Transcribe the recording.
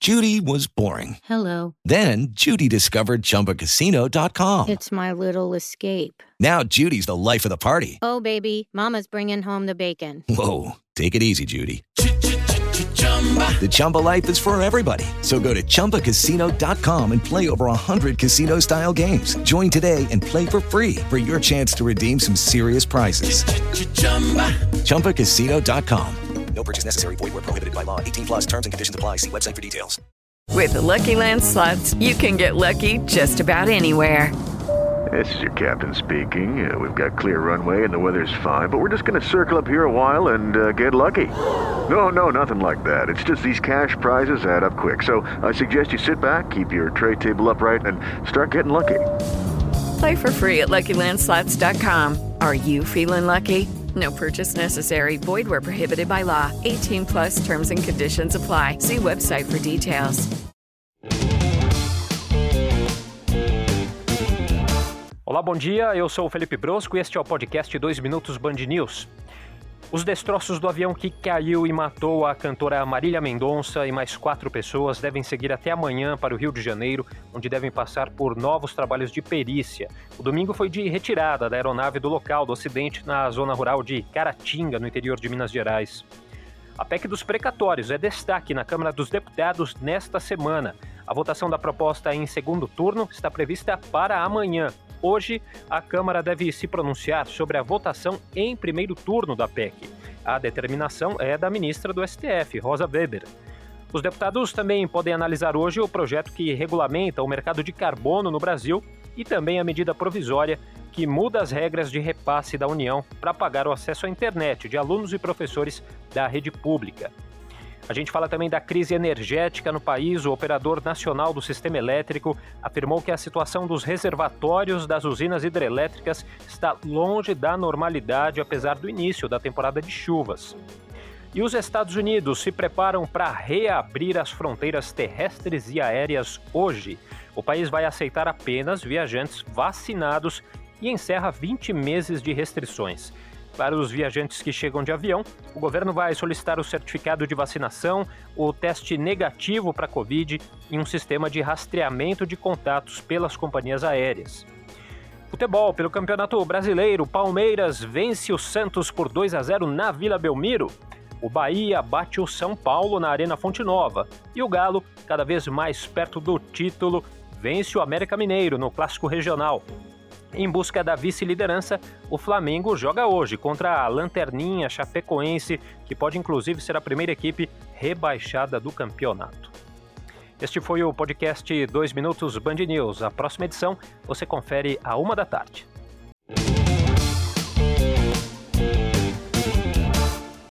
Judy was boring. Hello. Then Judy discovered ChumbaCasino.com. It's my little escape. Now Judy's the life of the party. Oh, baby, mama's bringing home the bacon. Whoa, take it easy, Judy. The Chumba life is for everybody. So go to ChumbaCasino.com and play over 100 casino-style games. Join today and play for free for your chance to redeem some serious prizes. ChumbaCasino.com. No purchase necessary. Void where prohibited by law. 18 plus terms and conditions apply. See website for details. With the Lucky Land Slots, you can get lucky just about anywhere. This is your captain speaking. We've got clear runway and the weather's fine, but we're just going to circle up here a while and get lucky. No, nothing like that. It's just these cash prizes add up quick. So I suggest you sit back, keep your tray table upright, and start getting lucky. Play for free at LuckyLandSlots.com. Are you feeling lucky? No purchase necessary. Void where prohibited by law. 18 plus terms and conditions apply. See website for details. Olá, bom dia. Eu sou o Felipe Brosco e este é o podcast 2 Minutos Band News. Os destroços do avião que caiu e matou a cantora Marília Mendonça e mais 4 pessoas devem seguir até amanhã para o Rio de Janeiro, onde devem passar por novos trabalhos de perícia. O domingo foi de retirada da aeronave do local do acidente na zona rural de Caratinga, no interior de Minas Gerais. A PEC dos precatórios é destaque na Câmara dos Deputados nesta semana. A votação da proposta em segundo turno está prevista para amanhã. Hoje, a Câmara deve se pronunciar sobre a votação em primeiro turno da PEC. A determinação é da ministra do STF, Rosa Weber. Os deputados também podem analisar hoje o projeto que regulamenta o mercado de carbono no Brasil e também a medida provisória que muda as regras de repasse da União para pagar o acesso à internet de alunos e professores da rede pública. A gente fala também da crise energética no país. O operador nacional do sistema elétrico afirmou que a situação dos reservatórios das usinas hidrelétricas está longe da normalidade, apesar do início da temporada de chuvas. E os Estados Unidos se preparam para reabrir as fronteiras terrestres e aéreas hoje. O país vai aceitar apenas viajantes vacinados e encerra 20 meses de restrições. Para os viajantes que chegam de avião, o governo vai solicitar o certificado de vacinação, o teste negativo para Covid e um sistema de rastreamento de contatos pelas companhias aéreas. Futebol, pelo Campeonato Brasileiro, Palmeiras vence o Santos por 2-0 na Vila Belmiro. O Bahia bate o São Paulo na Arena Fonte Nova. E o Galo, cada vez mais perto do título, vence o América Mineiro no Clássico Regional. Em busca da vice-liderança, o Flamengo joga hoje contra a Lanterninha Chapecoense, que pode inclusive ser a primeira equipe rebaixada do campeonato. Este foi o podcast 2 Minutos Band News. A próxima edição você confere à 1 da tarde.